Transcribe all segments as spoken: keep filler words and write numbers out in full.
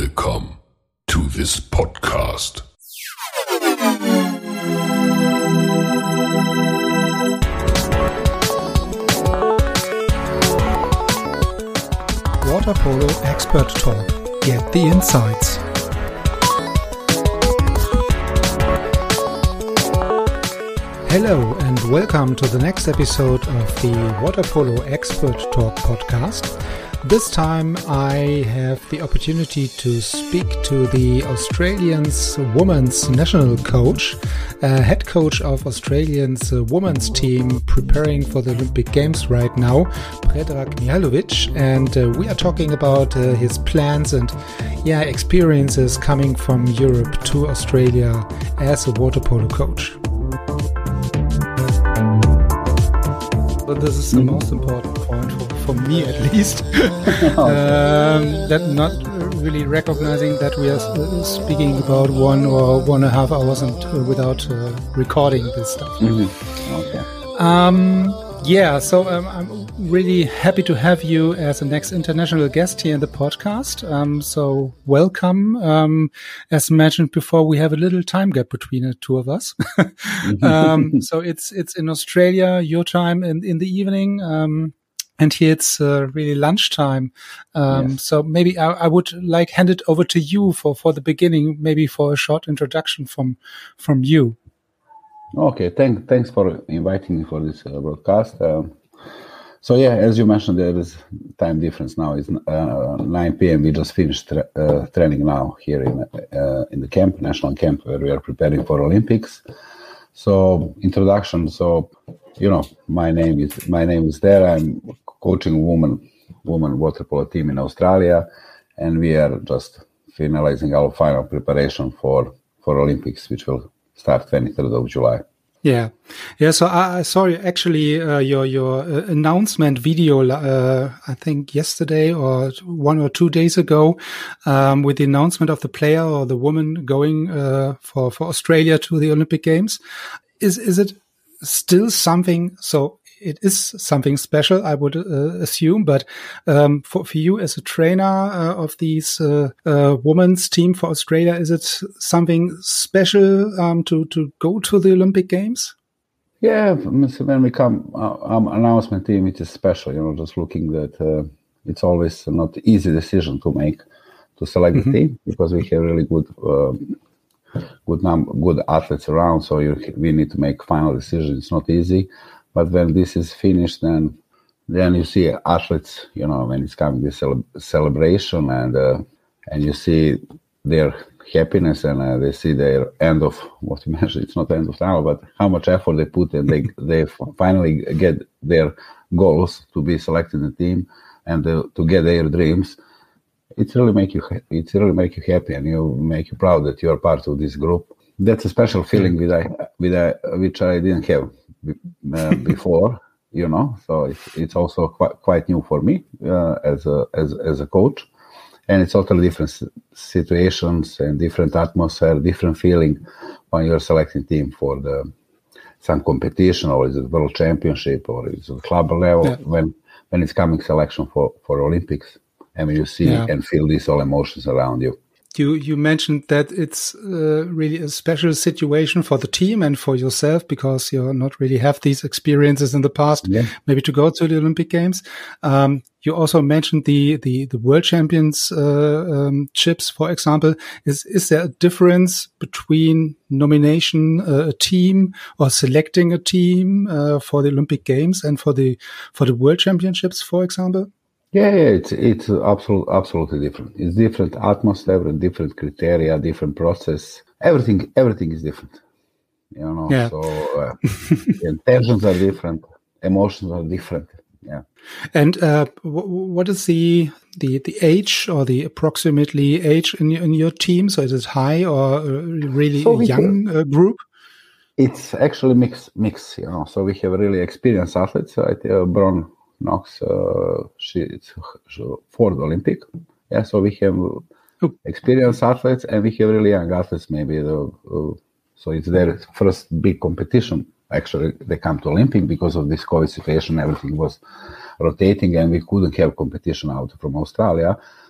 Welcome to this podcast. Water Polo Expert Talk. Get the insights. Hello and welcome to the next episode of the Water Polo Expert Talk podcast. This time I have the opportunity to speak to the Australians women's national coach, uh, head coach of Australians uh, women's team preparing for the Olympic Games right now, Predrag Mihailovic, and uh, we are talking about uh, his plans and yeah experiences coming from Europe to Australia as a water polo coach. But this is the mm-hmm. most important point for, for me, at least. um, that not really recognizing that we are uh, speaking about one or one and a half hours and uh, without uh, recording this stuff. Mm-hmm. Okay. Um, yeah, so um, I'm really happy to have you as the next international guest here in the podcast. Um, so welcome. Um, as mentioned before, we have a little time gap between the two of us. um, so it's it's in Australia, your time in, in the evening, um, and here it's uh, really lunchtime. Um, yes. So maybe I, I would like hand it over to you for, for the beginning, maybe for a short introduction from from you. Okay, thank, thanks for inviting me for this uh, broadcast. Um, so yeah, as you mentioned, there is time difference now. It's uh, nine p.m. We just finished tra- uh, training now here in uh, in the camp, national camp, where we are preparing for Olympics. So introduction. So you know, my name is my name is there. I'm coaching women women water polo team in Australia, and we are just finalizing our final preparation for for Olympics, which will start twenty-third of July. Yeah, yeah. So I, I saw actually uh, your your uh, announcement video. Uh, I think yesterday or one or two days ago, um, with the announcement of the player or the woman going uh, for for Australia to the Olympic Games. Is is it still something? So it is something special, I would uh, assume. But um, for for you as a trainer uh, of these uh, uh, women's team for Australia, is it something special um, to to go to the Olympic Games? Yeah, when we come uh, um, announcement team, it is special. You know, just looking that uh, it's always not easy decision to make to select mm-hmm. the team, because we have really good. Uh, good number, good athletes around. So you, we need to make final decisions. It's not easy. But when this is finished, then then you see athletes, you know, when it's coming this cele- celebration and uh, and you see their happiness and uh, they see their end of what you mentioned. It's not end of tunnel, but how much effort they put and they they finally get their goals to be selected in the team and uh, to get their dreams. It really make you it really make you happy and you make you proud that you are part of this group. That's a special feeling with I with I, which I didn't have uh, before, you know. So it's it's also quite quite new for me uh, as a as as a coach, and it's totally different situations and different atmosphere, different feeling when you're selecting team for the some competition, or is it world championship, or is it club level, yeah. when when it's coming selection for for Olympics. And you see yeah. and feel these all emotions around you. You you mentioned that it's uh, really a special situation for the team and for yourself, because you not really have these experiences in the past, yeah. maybe to go to the Olympic Games. Um, you also mentioned the the, the World Championships, uh, um, for example. Is is there a difference between nomination uh, a team or selecting a team uh, for the Olympic Games and for the for the World Championships, for example? Yeah, yeah, it's it's absolutely absolutely different. It's different atmosphere, different criteria, different process. Everything everything is different. You know, yeah. so uh, intentions are different, emotions are different. Yeah. And uh, w- what is the the the age or the approximately age in in your team? So is it high or really so young uh, group? It's actually mix mix. You know, so we have really experienced athletes. Right? Uh, Bron Knox, uh, she it's for the Olympic. Yeah, so we have experienced athletes and we have really young athletes. Maybe the, uh, so it's their first big competition. Actually, they come to Olympic because of this COVID situation. Everything was rotating and we couldn't have competition out from Australia.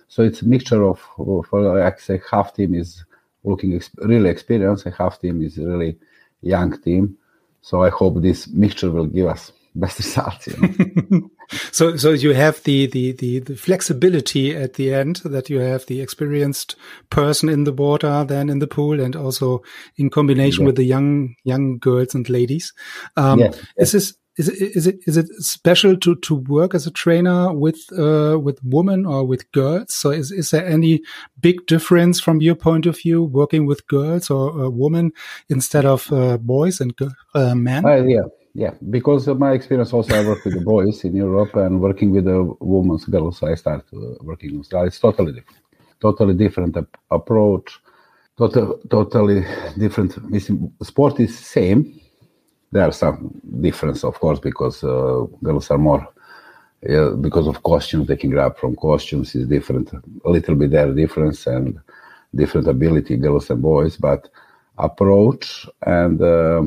So it's a mixture of, for like I say, half team is looking ex- really experienced, and half team is really young team. So I hope this mixture will give us best results. You know? so, so you have the, the, the, the flexibility at the end, that you have the experienced person in the water, then in the pool, and also in combination Yeah. with the young, young girls and ladies. Um, Yes, is this, is it, is it, is it special to, to work as a trainer with, uh, with women or with girls? So is, is there any big difference from your point of view, working with girls or uh, women instead of uh, boys and uh, men? Uh, yeah, yeah. Because of my experience, also I work with the boys in Europe, and working with the women's girls, I start uh, working in Australia. It's totally different, totally different ap- approach, total, totally different. Sport is same. There are some difference, of course, because uh, girls are more, uh, because of costumes, they can grab from costumes is different, a little bit there difference and different ability, girls and boys, but approach and uh,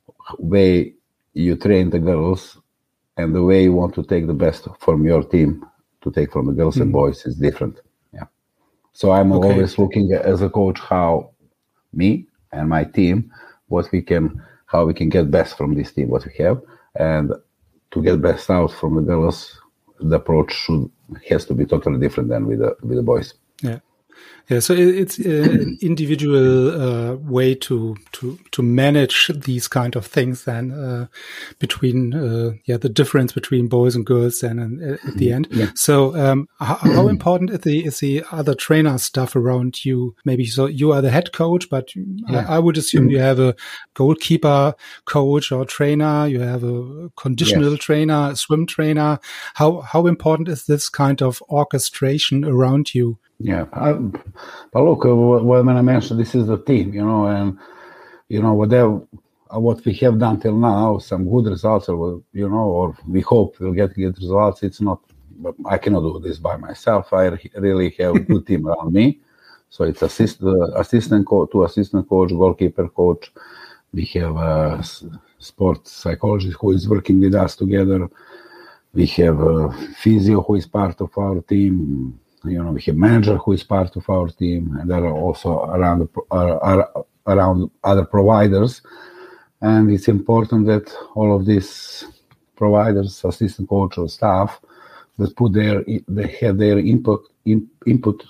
way you train the girls and the way you want to take the best from your team to take from the girls mm-hmm. and boys is different. Yeah. So I'm okay. always looking as a coach how me and my team, what we can, how we can get best from this team, what we have, and to get best out from the girls, the approach should has to be totally different than with the with the boys. Yeah. Yeah, so it's an individual uh, way to to to manage these kind of things. Then uh, between uh, yeah the difference between boys and girls, then and at the end. Yeah. So um, how, how important is the is the other trainer stuff around you? Maybe so you are the head coach, but yeah. I, I would assume you have a goalkeeper coach or trainer. You have a conditional yes. trainer, a swim trainer. How how important is this kind of orchestration around you? Yeah, I, but look, uh, when I mentioned this is the team, you know, and you know whatever what we have done till now, some good results, or you know, or we hope we'll get good results. It's not, but I cannot do this by myself. I really have a good team around me. So it's assist the assistant coach, two assistant coach, goalkeeper coach. We have a sports psychologist who is working with us together. We have a physio who is part of our team. You know, we have manager who is part of our team, and there are also around uh, around other providers. And it's important that all of these providers, assistant coach or staff, that put their they have their input in, input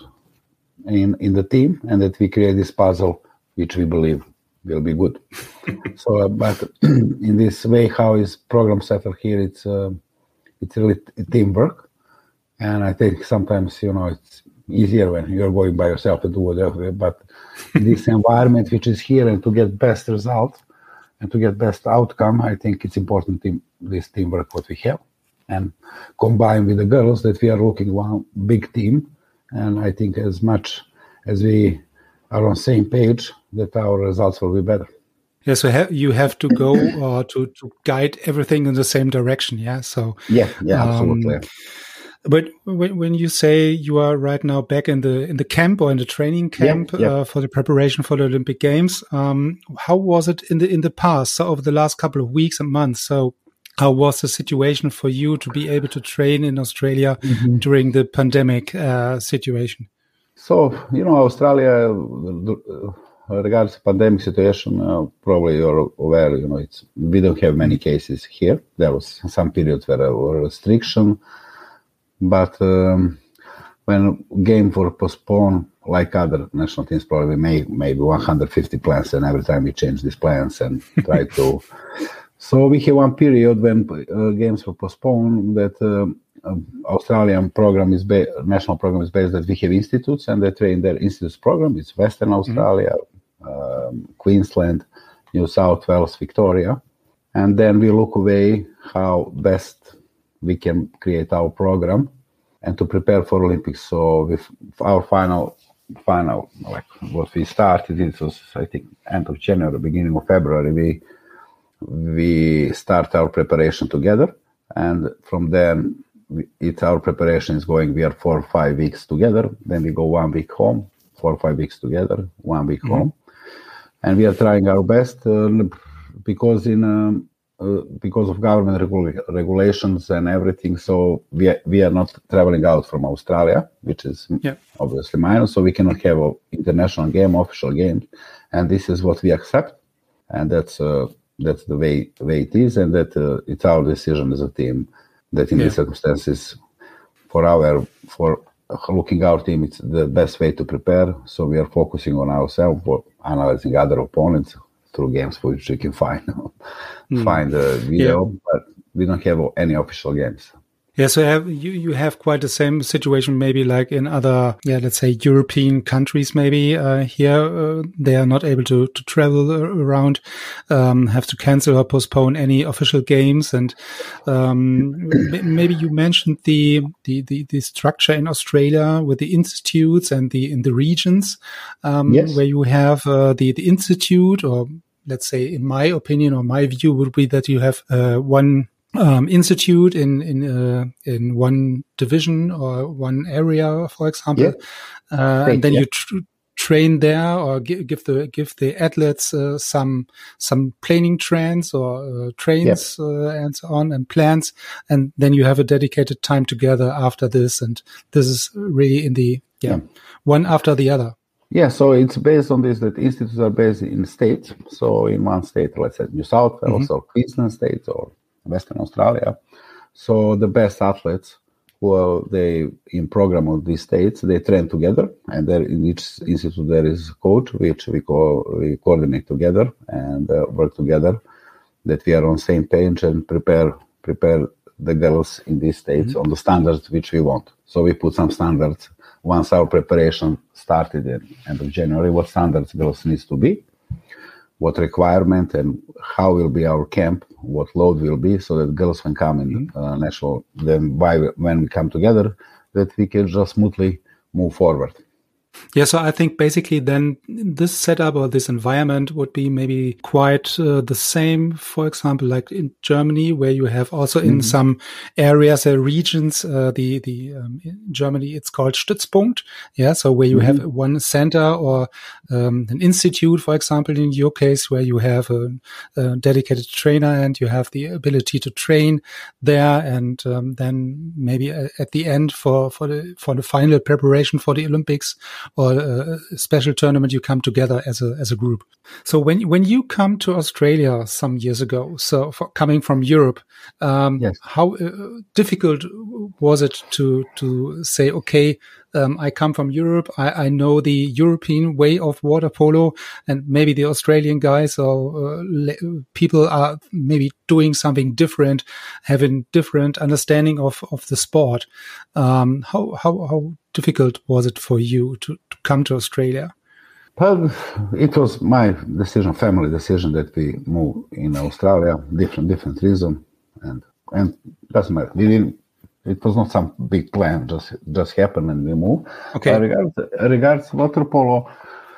in in the team, and that we create this puzzle, which we believe will be good. so, uh, but in this way, how is program settled here? It's uh, it's really teamwork. And I think sometimes, you know, it's easier when you're going by yourself to do whatever. But this environment which is here, and to get best result and to get best outcome, I think it's important team, this teamwork what we have. And combined with the girls, that we are looking one big team. And I think as much as we are on the same page, that our results will be better. Yeah, so ha- you have to go uh, to, to guide everything in the same direction, yeah? So yeah, yeah, absolutely. Um, But when when you say you are right now back in the in the camp or in the training camp yeah, yeah. Uh, for the preparation for the Olympic Games, um, how was it in the in the past? So over the last couple of weeks and months, so how was the situation for you to be able to train in Australia mm-hmm. during the pandemic uh, situation? So you know, Australia, uh, regards to pandemic situation, uh, probably you're aware. You know, it's we don't have many cases here. There was some periods where there were restriction. But um, when games were postponed, like other national teams, probably made maybe one hundred fifty plans, and every time we change these plans and try to. So we have one period when uh, games were postponed. That uh, um, Australian program is ba- national program is based that we have institutes, and they train their institutes program. It's Western Australia, mm-hmm. um, Queensland, New South Wales, Victoria, and then we look away how best we can create our program and to prepare for Olympics. So with our final, final, like what we started, it was, I think, end of January, beginning of February, we we start our preparation together. And from then, we, it's our preparation is going, we are four or five weeks together. Then we go one week home, four or five weeks together, one week mm-hmm. home. And we are trying our best uh, because in... Um, uh, because of government regula- regulations and everything, so we are, we are not traveling out from Australia, which is yeah. obviously minus, so we cannot have an international game, official game, and this is what we accept, and that's uh, that's the way the way it is, and that uh, it's our decision as a team that in yeah. these circumstances, for our for looking our team, it's the best way to prepare. So we are focusing on ourselves, or analyzing other opponents through games for which we can find mm. find a video, yeah. but we don't have any official games. Yeah, so have, you you have quite the same situation, maybe like in other, yeah, let's say European countries. Maybe uh, here uh, they are not able to to travel around, um, have to cancel or postpone any official games, and um, maybe you mentioned the, the the the structure in Australia with the institutes and the in the regions, um, yes. where you have uh, the the institute, or let's say, in my opinion or my view, would be that you have uh, one. Um, institute in in uh, in one division or one area, for example, yeah. uh, Great, and then yeah. you tr- train there, or give, give the give the athletes uh, some some planning trains or uh, trains yeah. uh, and so on, and plans, and then you have a dedicated time together after this, and this is really in the yeah, yeah. one after the other. Yeah, so it's based on this that institutes are based in states. So in one state, let's say New South Wales mm-hmm. or Queensland State or Western Australia. So the best athletes who are they in program of these states, they train together, and there in each institute there is a coach which we co- we coordinate together and uh, work together, that we are on same page and prepare prepare the girls in these states mm-hmm. on the standards which we want. So we put some standards once our preparation started at end of January, what standards girls needs to be, what requirement and how will be our camp, what load will be, so that girls can come in uh, national, then by, when we come together, that we can just smoothly move forward. Yeah, so I think basically then this setup or this environment would be maybe quite uh, the same, for example, like in Germany, where you have also in mm-hmm. some areas or regions, uh, the, the, um, in Germany, it's called Stützpunkt. Yeah. So where you mm-hmm. have one center or, um, an institute, for example, in your case, where you have a, a dedicated trainer and you have the ability to train there. And, um, then maybe at the end for, for the, for the final preparation for the Olympics, or a special tournament, you come together as a as a group. So when when you come to Australia some years ago, so for, coming from Europe, um, yes. how uh, difficult was it to to say, okay, um, I come from Europe, I, I know the European way of water polo, and maybe the Australian guys or uh, le- people are maybe doing something different, having different understanding of of the sport. Um, how how how difficult was it for you to, to come to Australia? Well, it was my decision, family decision, that we move in Australia. Different, different reason, and and doesn't matter. We didn't. It was not some big plan. Just just happened and we moved. Okay. Uh, regards regards water polo,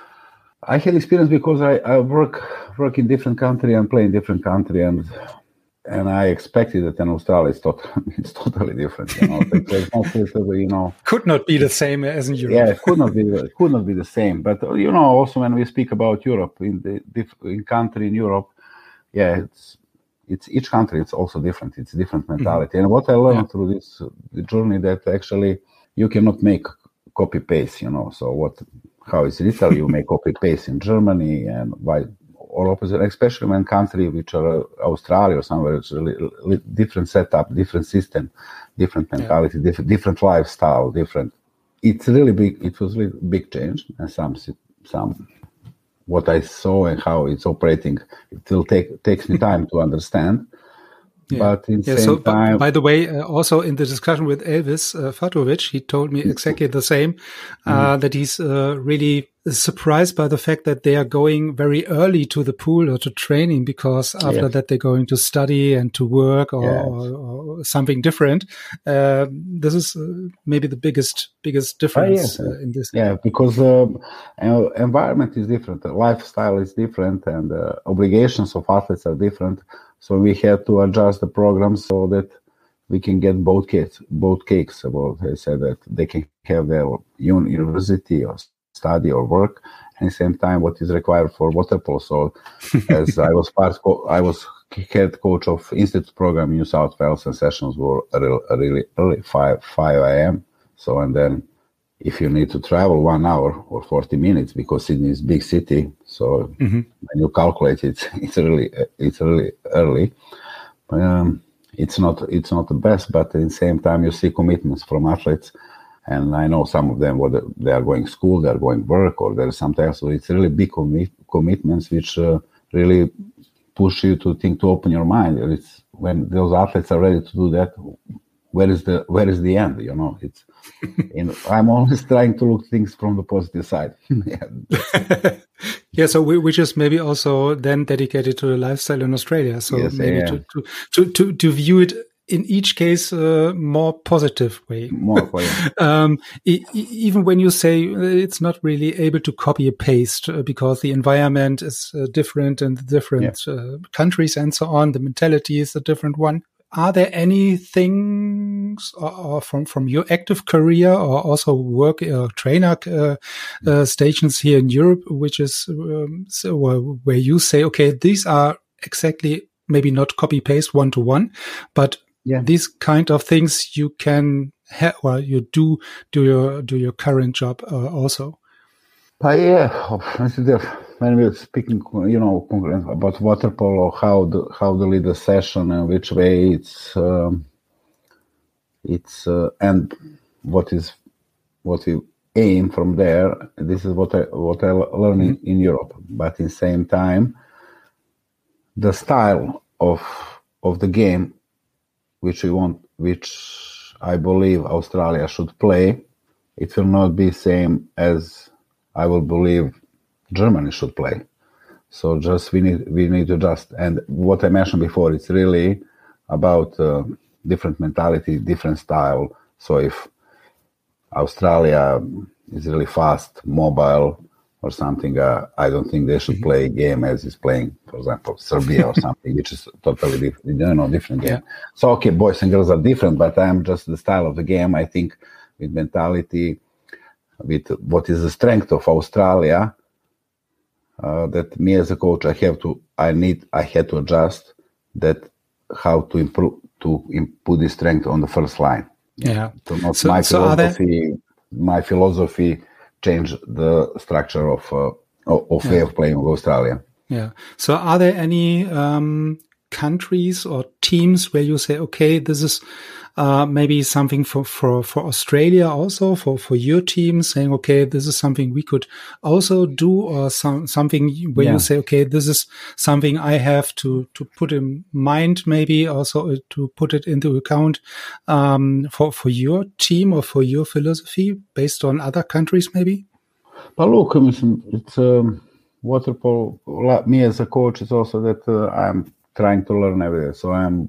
I had experience because I, I work work in different country and play in different country, and and I expected that in Australia it's totally it's totally different. You know, it's not you know could not be the same as in Europe. Yeah, it could not be could not be the same. But you know, also when we speak about Europe, in the in country in Europe, yeah, it's it's each country. It's also different. It's different mentality. Mm-hmm. And what I learned yeah. through this the journey, that actually you cannot make copy paste. You know, so what how is it Italy? You make copy paste in Germany, and why? Or opposite, especially when country which are Australia or somewhere, it's a li- li- different setup, different system, different mentality, yeah. different different lifestyle, different. It's really big. It was really big change, and some some what I saw and how it's operating. It will take takes me time to understand. Yeah. But in the yeah, same so, time, by the way, uh, also in the discussion with Elvis uh, Fatovic, he told me exactly the same, uh, mm-hmm. that he's uh, really surprised by the fact that they are going very early to the pool or to training, because after yes. that they're going to study and to work or, yes. or, or something different. Uh, this is uh, maybe the biggest biggest difference oh, yes. uh, in this. Yeah, because um, environment is different, the lifestyle is different, and uh, obligations of athletes are different. So we had to adjust the program so that we can get both cakes. Both cakes. About I said that they can have their university or study or work, and at the same time what is required for water polo. So as I was part, I was head coach of Institute program in New South Wales, and sessions were really, really early, five a.m. So, and then if you need to travel one hour or forty minutes, because Sydney is a big city, so mm-hmm. when you calculate it, it's really, it's really early. Um, it's not, it's not the best, but at the same time, you see commitments from athletes, and I know some of them, whether they are going school, they are going work, or there is something else. So it's really big commi- commitments, which uh, really push you to think, to open your mind. It's when those athletes are ready to do that, where is the where is the end? You know, it's. And I'm always trying to look things from the positive side. yeah. yeah, so we, we just maybe also then dedicated to the lifestyle in Australia. So yes, maybe to, to, to, to, to view it in each case uh, more positive way. More positive. um, e- even when you say it's not really able to copy and paste uh, because the environment is uh, different in the different yeah. uh, countries and so on, the mentality is a different one. Are there any things or, or from, from your active career or also work uh, trainer uh, uh, stations here in Europe, which is um, so, uh, where you say, okay, these are exactly maybe not copy paste one to one, but yeah. these kind of things you can have, or you do do your do your current job uh, also. But yeah, when we're speaking, you know, about water polo, how the how to lead the session and which way it's um, it's uh, and what is what we aim from there. This is what I what I learn mm-hmm. in, in Europe. But in the same time, the style of of the game, which we want, which I believe Australia should play, it will not be same as I will believe Germany should play. So just we need we need to just, and what I mentioned before, it's really about uh, different mentality, different style. So if Australia is really fast, mobile or something, uh, I don't think they should play a game as is playing, for example, Serbia or something, which is totally different, you know, different game. Yeah. So okay, boys and girls are different, but I'm just the style of the game. I think with mentality, with what is the strength of Australia, uh, that me as a coach, I have to, I need, I had to adjust that how to improve, to put the strength on the first line. Yeah. So not so, my so philosophy, my philosophy change the structure of, uh, of way yeah. of playing of Australia. Yeah. So are there any um, countries or teams where you say, okay, this is uh, maybe something for, for, for Australia also, for, for your team, saying, okay, this is something we could also do, or some, something where yeah. you say, okay, this is something I have to, to put in mind, maybe also to put it into account um, for, for your team or for your philosophy based on other countries, maybe? But look, it's um, water polo. Me as a coach, it's also that uh, I'm trying to learn every day. So I'm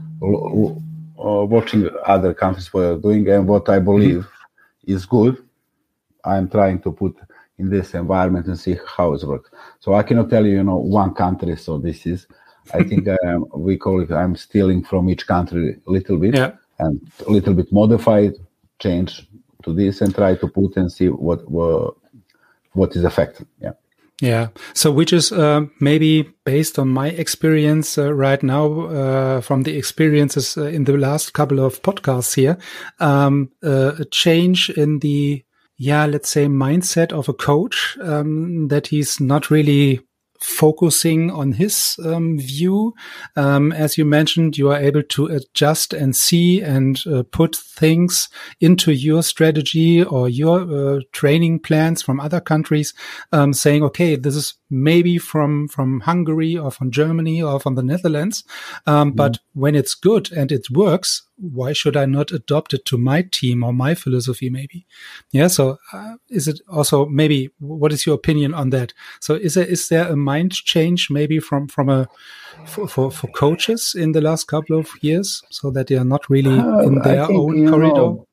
l- uh, watching other countries what they're doing, and what I believe mm-hmm. is good, I'm trying to put in this environment and see how it works. So I cannot tell you, you know, one country. So this is, I think I am, we call it, I'm stealing from each country a little bit yeah. and a little bit modified, change to this and try to put and see what what, what is effective. Yeah. Yeah. So which is uh, maybe based on my experience uh, right now, uh, from the experiences uh, in the last couple of podcasts here, um, uh, a change in the, yeah, let's say mindset of a coach, um, that he's not really focusing on his um, view. Um, as you mentioned, you are able to adjust and see and uh, put things into your strategy or your uh, training plans from other countries, um, saying, okay, this is maybe from, from Hungary or from Germany or from the Netherlands. Um, mm-hmm. But when it's good and it works, why should I not adopt it to my team or my philosophy maybe? Yeah. So uh, is it also maybe, what is your opinion on that? So is there, is there a mind change maybe from, from a, for, for, for coaches in the last couple of years so that they are not really uh, in their think, own corridor? Know,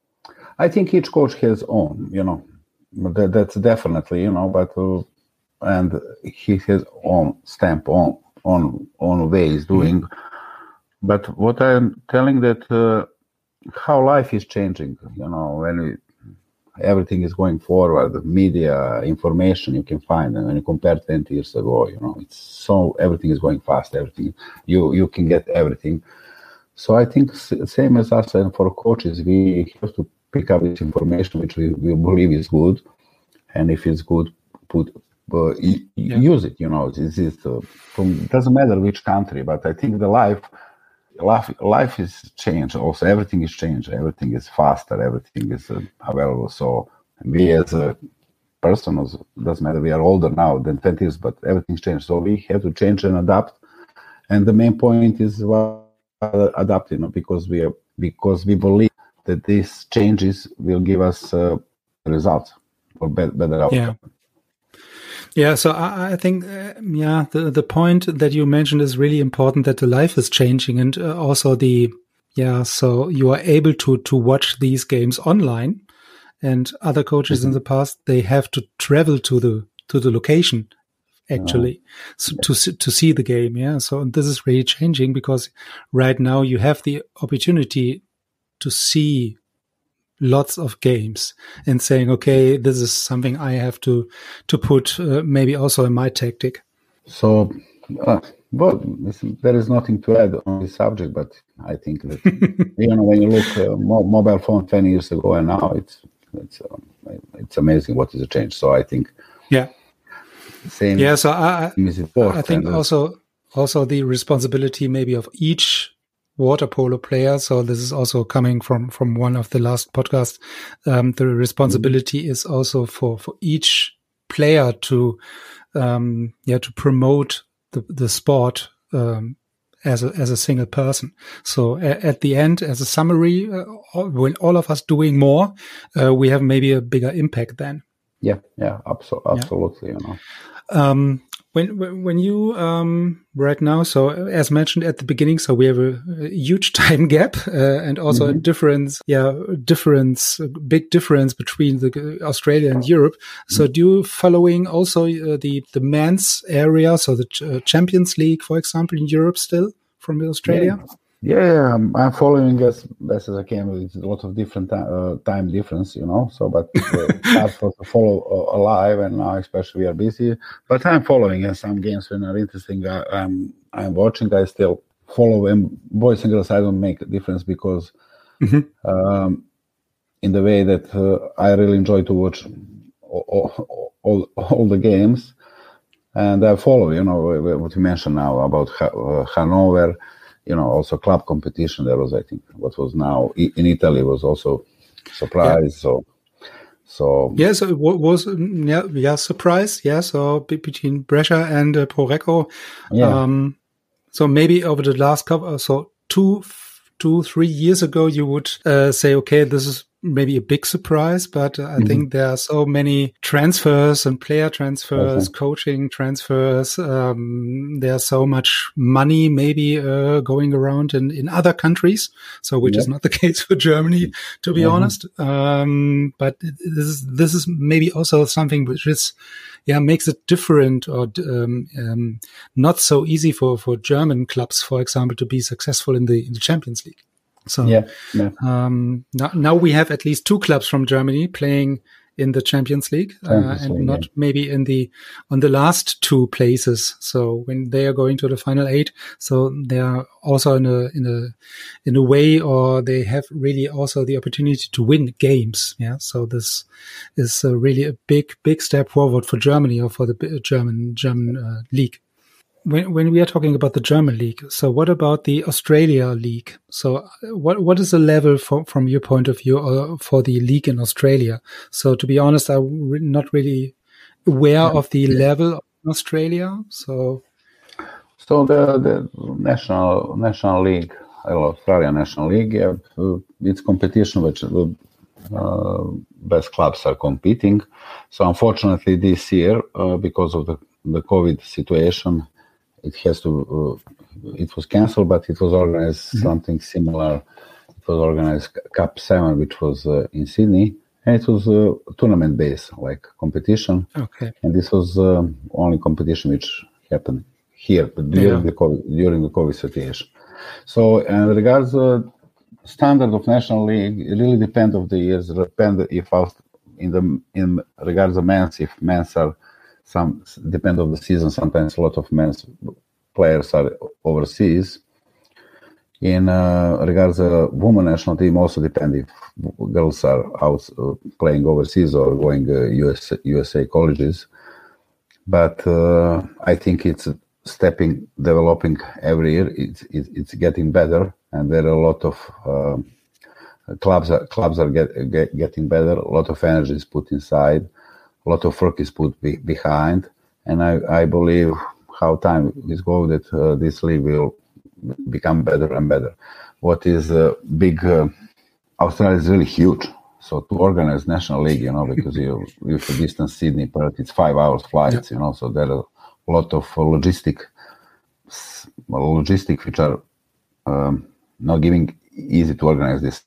I think each coach has own, you know, that, that's definitely, you know, but, uh, and he has own stamp on, on, on ways doing. Mm-hmm. But what I'm telling that uh, how life is changing, you know, when we, everything is going forward. The media, information you can find, and when you compare twenty years ago, you know, it's so everything is going fast. Everything you you can get everything. So I think same as us and for coaches, we have to pick up this information which we, we believe is good, and if it's good, put uh, yeah. use it. You know, this is uh, from it doesn't matter which country, but I think the life. Life, life is changed. Also, everything is changed. Everything is faster. Everything is uh, available. So we, as a person, doesn't matter. We are older now than twenty years, but everything's changed. So we have to change and adapt. And the main point is well, adapting, you know, because we are because we believe that these changes will give us uh, results or better, better outcome. Yeah. Yeah, so I, I think, uh, yeah, the, the point that you mentioned is really important, that the life is changing, and uh, also the, yeah, so you are able to, to watch these games online, and other coaches mm-hmm. in the past, they have to travel to the, to the location actually oh. so, to, to see the game. Yeah. So this is really changing because right now you have the opportunity to see lots of games and saying, okay, this is something I have to to put uh, maybe also in my tactic. So, uh, well, there is nothing to add on this subject, but I think that you know when you look uh, mo- mobile phone twenty years ago and now, it's it's uh, it's amazing what is the change. So I think yeah, same. Yeah, so I I, I think also also the responsibility maybe of each water polo player. So this is also coming from, from one of the last podcasts. Um, the responsibility mm-hmm. is also for, for each player to, um, yeah, to promote the, the sport, um, as a, as a single person. So a, at the end, as a summary, uh, when all of us doing more, uh, we have maybe a bigger impact then. Yeah. Yeah. Abso- absolutely. Yeah. You know. Um, When when you um, right now, so as mentioned at the beginning, so we have a, a huge time gap uh, and also mm-hmm. a difference, yeah, difference, a big difference between the Australia and Europe. Mm-hmm. So do you following also uh, the the men's area, so the uh, Champions League, for example, in Europe still from Australia? Yeah. Yeah, I'm, I'm following as best as I can. It's a lot of different uh, time difference, you know. So, but uh, it's hard for to follow uh, live, and now especially we are busy. But I'm following, and some games when are interesting. I, I'm I'm watching. I still follow them. Boys and girls, I don't make a difference because mm-hmm. um, in the way that uh, I really enjoy to watch all all, all, all the games, and I follow. You know what you mentioned now about uh, Hanover. You know, also club competition. There was, I think, what was now in Italy was also surprise. Yeah. So, so yeah, so it was yeah, yeah, surprise. Yeah, so between Brescia and uh, Pro Recco. Yeah. Um, so maybe over the last couple, so two, two, three years ago, you would uh, say, okay, this is maybe a big surprise, but uh, I mm-hmm. think there are so many transfers and player transfers, okay. coaching transfers. Um, there's so much money maybe uh, going around in, in other countries. So, which yeah. is not the case for Germany, to be mm-hmm. honest. Um, but this is, this is maybe also something which is, yeah, makes it different or um, um, not so easy for, for German clubs, for example, to be successful in the, in the Champions League. So yeah, yeah. Um, now, now we have at least two clubs from Germany playing in the Champions League, Champions uh, and League, not yeah. maybe in the on the last two places. So when they are going to the final eight, so they are also in a in a in a way, or they have really also the opportunity to win games. Yeah, so this is uh, really a big big step forward for Germany or for the German German uh, league. When when we are talking about the German league, so what about the Australia league? So what what is the level from from your point of view uh, for the league in Australia? So to be honest, I'm re- not really aware yeah. of the level of Australia. So so the the national national league, Australia National League, yeah, it's competition which the uh, best clubs are competing. So unfortunately, this year uh, because of the the COVID situation. It has to. Uh, it was cancelled, but it was organized mm-hmm. something similar. It was organized Cup Seven, which was uh, in Sydney, and it was a uh, tournament-based, like competition. Okay. And this was uh, only competition which happened here, but during yeah. the COVID, during the COVID situation. So, in regards uh, standard of national league, it really depends of the years. Depend if in the in regards of men's, if men's are some depend on the season. Sometimes a lot of men's players are overseas. In uh, regards the women national team, also depend if girls are out uh, playing overseas or going uh, U S U S A colleges. But uh, I think it's stepping, developing every year. It's it's, it's getting better, and there are a lot of uh, clubs. Are, clubs are get, get, getting better. A lot of energy is put inside. A lot of work is put be, behind, and I, I believe how time is going that uh, this league will become better and better. What is uh, big? Uh, Australia is really huge. So to organize national league, you know, because you if you distance Sydney, Perth, it's five hours flights, yeah. you know. So there are a lot of logistic, logistic which are um, not giving easy to organize this.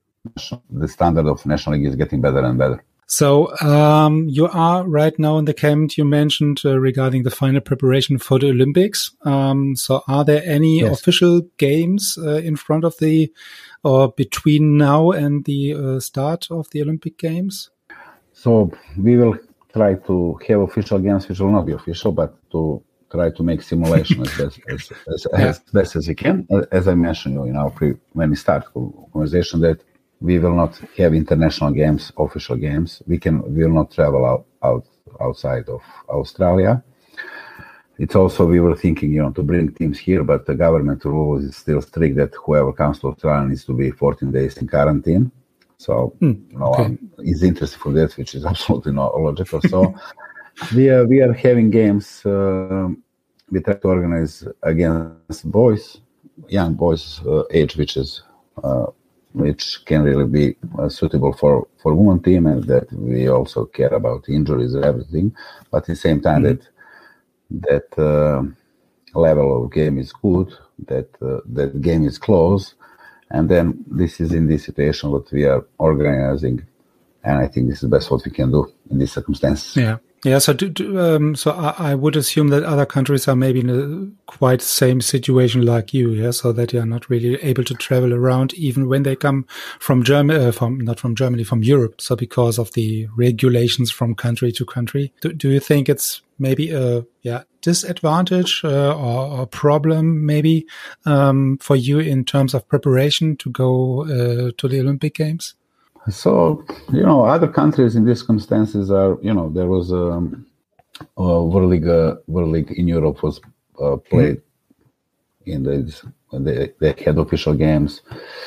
The standard of national league is getting better and better. So um, you are right now in the camp you mentioned uh, regarding the final preparation for the Olympics. Um, so are there any yes. official games uh, in front of the or between now and the uh, start of the Olympic Games? So we will try to have official games which will not be official, but to try to make simulation as best as, as, yeah. as best as we can. As I mentioned in our pre, when we start conversation that we will not have international games, official games. We can we will not travel out, out outside of Australia. It's also we were thinking, you know, to bring teams here, but the government rule is still strict that whoever comes to Australia needs to be fourteen days in quarantine. So, mm, you know, okay. um, is interested for that, which is absolutely not logical. So, we are we are having games. Uh, we try to organize against boys, young boys uh, age, which is. Uh, which can really be uh, suitable for, for women team, and that we also care about injuries and everything. But at the same time, mm-hmm. that that uh, level of game is good, that uh, that game is close, and then this is in this situation what we are organizing, and I think this is the best what we can do in these circumstances. Yeah. Yeah, so do, do, um, so I, I would assume that other countries are maybe in a quite same situation like you, yeah. So that you are not really able to travel around, even when they come from Germany, uh, from not from Germany, from Europe. So because of the regulations from country to country, do, do you think it's maybe a yeah disadvantage uh, or a problem maybe um, for you in terms of preparation to go uh, to the Olympic Games? So, you know, other countries in these circumstances are, you know, there was um, a World League, uh, World League in Europe was uh, played mm-hmm. in the, they, they had official games.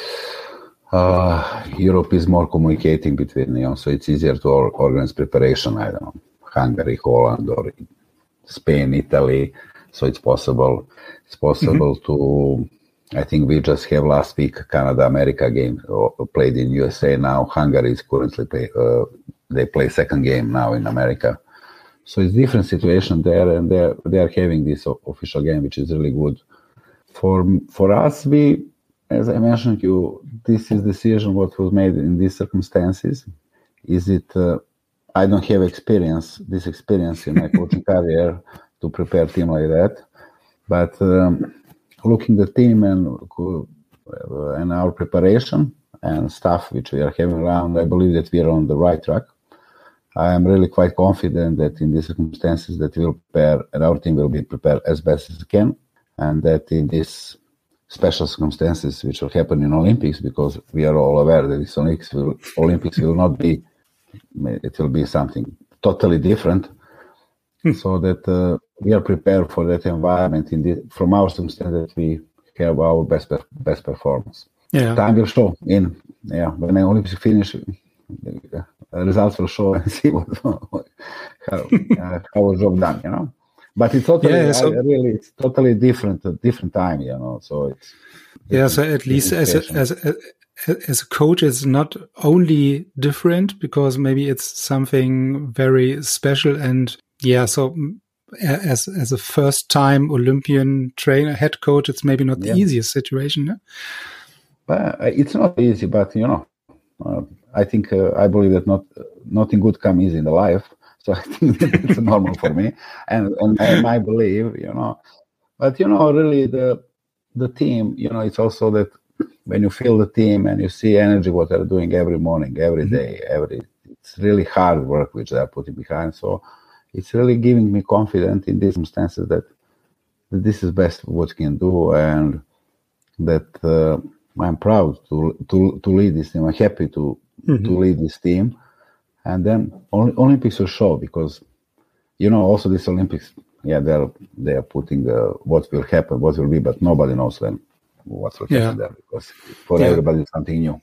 Uh, Europe is more communicating between, you know, so it's easier to organize preparation. I don't know, Hungary, Holland, or Spain, Italy. So it's possible. It's possible mm-hmm. to. I think we just have last week Canada America game played in U S A now. Hungary is currently play, uh, they play second game now in America. So it's different situation there, and they're they are having this official game, which is really good. For for us, we, as I mentioned, you this is decision what was made in these circumstances. Is it? Uh, I don't have experience this experience in my coaching career to prepare team like that, but. Um, Looking at the team and uh, and our preparation and stuff which we are having around, I believe that we are on the right track. I am really quite confident that in these circumstances that we will prepare and our team will be prepared as best as it can, and that in these special circumstances which will happen in Olympics, because we are all aware that this Olympics will, Olympics will not be, it will be something totally different. So that uh, we are prepared for that environment in the, from our circumstance that we have our best best performance. Yeah, time will show. In yeah, when the Olympics finish, the results will show and see what how uh, how was job done. You know, but it's totally yeah, so, uh, really it's totally different a different time. You know, so it's yeah. So at least as a, as a, as a coach, it's not only different because maybe it's something very special and. Yeah, so as as a first-time Olympian trainer, head coach, it's maybe not the yeah. easiest situation. No? But it's not easy, but you know, uh, I think uh, I believe that not nothing good comes easy in the life. So I think that it's normal for me, and and, and I believe, you know, but you know, really the the team, you know, it's also that when you feel the team and you see energy what they're doing every morning, every mm-hmm. day, every it's really hard work which they are putting behind. So it's really giving me confidence in these circumstances that, that this is best what we can do, and that uh, I'm proud to to to lead this team. I'm happy to mm-hmm. to lead this team, and then Olympics will show, because you know also this Olympics, yeah, they're they are putting uh, what will happen, what will be, but nobody knows then what will happen yeah. there, because for yeah. everybody it's something new.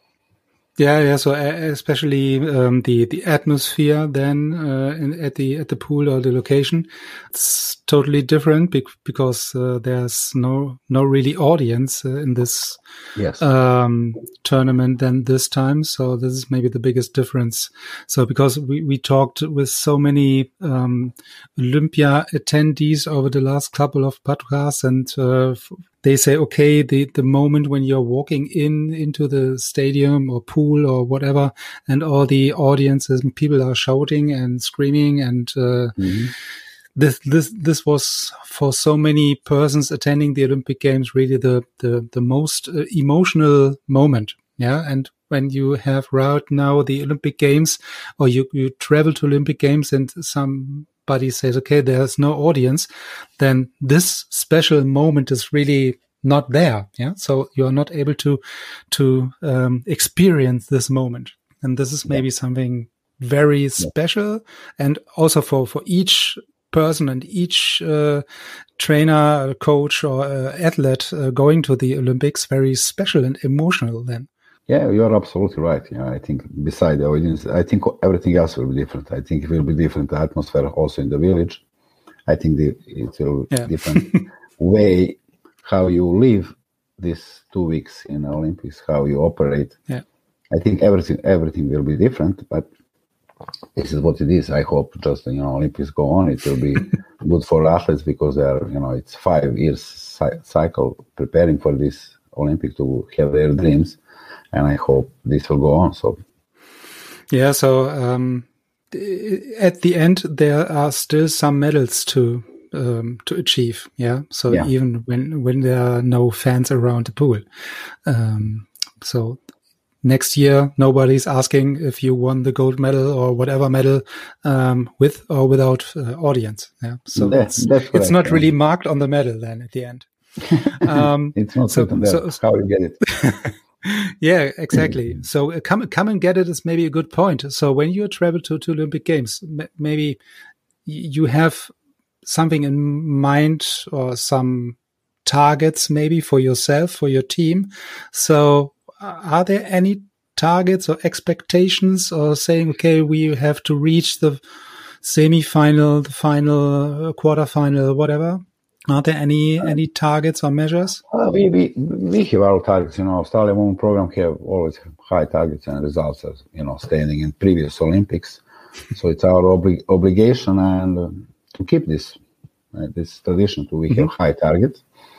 Yeah, yeah. So uh, especially um, the the atmosphere then uh, in, at the at the pool or the location, it's totally different bec- because uh, there's no no really audience uh, in this yes. um, tournament than this time. So this is maybe the biggest difference. So because we we talked with so many um, Olympia attendees over the last couple of podcasts, and uh, they say, okay, the, the moment when you're walking in into the stadium or pool or whatever, and all the audiences and people are shouting and screaming, and uh, mm-hmm. this this this was for so many persons attending the Olympic Games really the the the most uh, emotional moment. Yeah, and when you have right now the Olympic Games, or you you travel to Olympic Games and some. Somebody says, okay, there's no audience, then this special moment is really not there. Yeah. So you're not able to, to, um, experience this moment. And this is maybe yeah. something very yeah. special. And also for, for each person and each, uh, trainer, coach or uh, athlete uh, going to the Olympics, very special and emotional then. Yeah, you're absolutely right. Yeah, I think beside the audience, I think everything else will be different. I think it will be different atmosphere also in the village. I think the, it will yeah. different way how you live these two weeks in the Olympics, how you operate. Yeah. I think everything everything will be different, but this is what it is. I hope just, you know, Olympics go on. It will be good for athletes, because they are, you know, it's five years ci- cycle preparing for this Olympic to have their dreams. And I hope this will go on. So, yeah. So um, at the end, there are still some medals to um, to achieve. Yeah. So yeah. even when when there are no fans around the pool, um, so next year nobody's asking if you won the gold medal or whatever medal um, with or without uh, audience. Yeah. So that, it's, that's it's not really marked on the medal then at the end. Um, it's not so, there. So, how you get it. Yeah, exactly. So uh, come come and get it is maybe a good point. So when you travel to, to Olympic Games, m- maybe you have something in mind or some targets maybe for yourself, for your team. So uh, are there any targets or expectations, or saying, okay, we have to reach the semi-final, the final, uh, quarterfinal, whatever? Are there any any targets or measures? Uh, we, we we have our targets. You know, Australia Women Program have always high targets and results, as you know, standing in previous Olympics. So it's our obli- obligation and uh, to keep this uh, this tradition. To we mm-hmm. have high targets,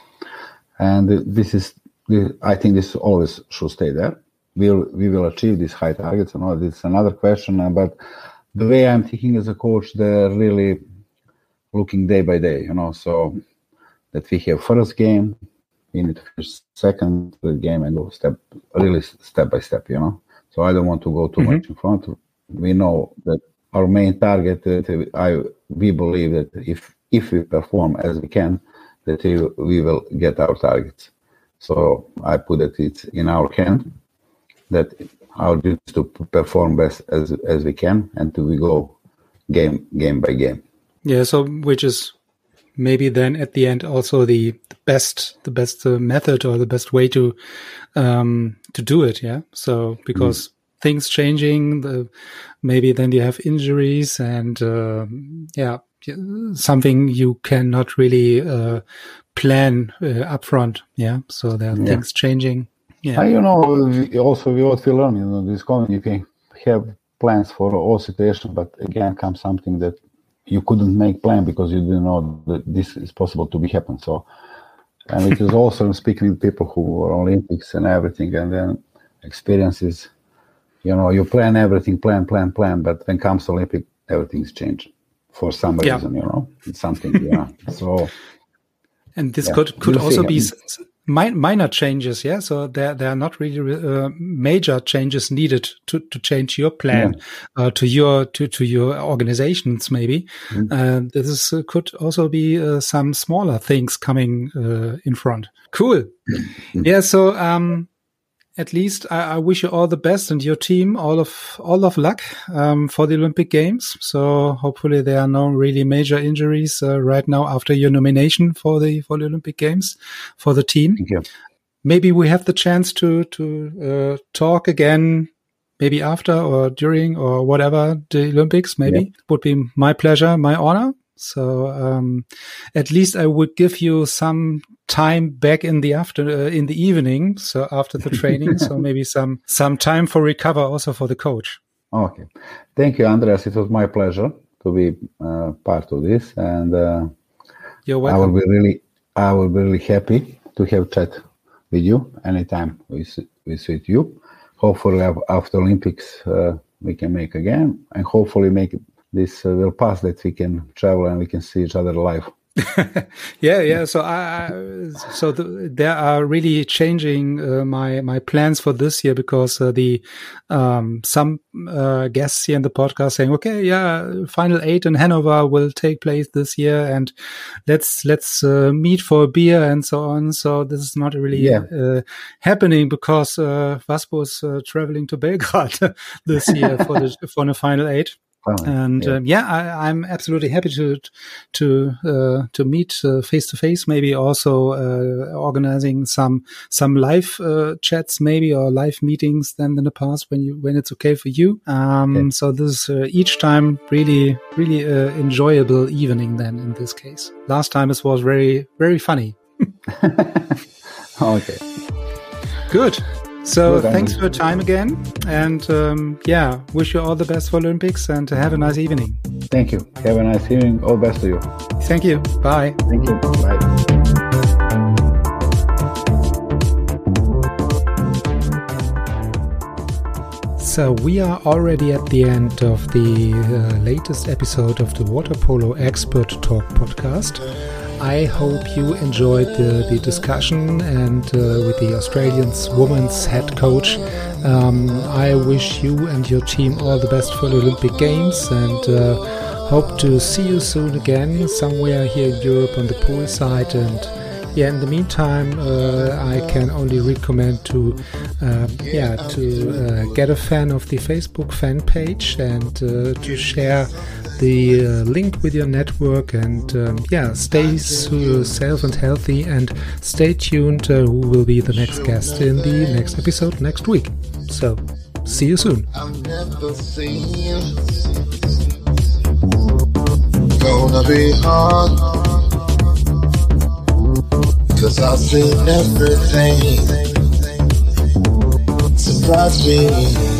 and uh, this is I think this always should stay there. We'll we will achieve these high targets. You know, this is another question. Uh, but the way I'm thinking as a coach, they're really looking day by day. You know, so. That we have first game, we need to finish second game and go step, really step by step, you know. So I don't want to go too mm-hmm. much in front. We know that our main target, that I we believe that if if we perform as we can, that we, we will get our targets. So I put that it's in our hand, that our duty is to perform best as as we can, and to we go game game by game. Yeah. So which is. Maybe then at the end also the, the best the best uh, method or the best way to um, to do it. Yeah. So because mm. things changing, the, maybe then you have injuries and uh, yeah, something you cannot really uh, plan uh, upfront. Yeah. So there are yeah. things changing. Yeah. And, you know, also what we learn, you know, this community have plans for all situations, but again comes something that. You couldn't make plan because you didn't know that this is possible to be happen. So, and it is also speaking with people who are Olympics and everything, and then experiences. You know, you plan everything, plan, plan, plan, but when comes Olympic, everything's changed for some reason. Yeah. You know, it's something. Yeah. So, and this yeah, could could also be mi- minor changes, yeah. So there there are not really uh, major changes needed to, to change your plan, yeah. uh, to your to to your organizations. Maybe mm-hmm. uh, this uh, could also be uh, some smaller things coming uh, in front. Cool. Mm-hmm. Yeah. So um, at least I, I wish you all the best and your team all of all of luck um, for the Olympic Games. So hopefully there are no really major injuries uh, right now after your nomination for the for the Olympic Games for the team. Thank you. Maybe we have the chance to to uh, talk again, maybe after or during or whatever the Olympics. Maybe yeah. It would be my pleasure, my honor. So um, at least I would give you some time back in the after uh, in the evening. So after the training, so maybe some some time for recover also for the coach. Okay, thank you, Andreas. It was my pleasure to be uh, part of this, and uh, you're welcome. I will be really, I will be really happy to have chat with you anytime we we suit you. Hopefully, after Olympics, uh, we can make again, and hopefully make. This uh, will pass that we can travel and we can see each other live. yeah, yeah. So I, so the, there are really changing uh, my my plans for this year because uh, the um, some uh, guests here in the podcast saying, okay, yeah, Final Eight in Hanover will take place this year, and let's let's uh, meet for a beer and so on. So this is not really yeah. uh, happening because uh, Vaspo is uh, traveling to Belgrade this year for the for the Final Eight. And yeah, um, yeah I, I'm absolutely happy to to uh, to meet face to face. Maybe also uh, organizing some some live uh, chats, maybe or live meetings. Than in the past, when you when it's okay for you. Um, okay. So this is uh, each time really really uh, enjoyable evening. Then in this case, last time it was very very funny. Okay, good. So Good, thanks for your time again, and um, yeah, wish you all the best for Olympics, and have a nice evening. Thank you. Have a nice evening. All the best to you. Thank you. Bye. Thank you. Bye. So we are already at the end of the uh, latest episode of the Water Polo Expert Talk podcast. I hope you enjoyed the, the discussion and uh, with the Australian women's head coach. Um, I wish you and your team all the best for the Olympic Games, and uh, hope to see you soon again somewhere here in Europe on the poolside. And yeah, in the meantime, uh, I can only recommend to uh, yeah to uh, get a fan of the Facebook fan page and uh, to share the uh, link with your network, and um, yeah, stay safe and healthy, and stay tuned uh, who will be the next guest in the next episode next week. So see you soon. I've never seen gonna be hard, 'cause I've seen everything surprise me.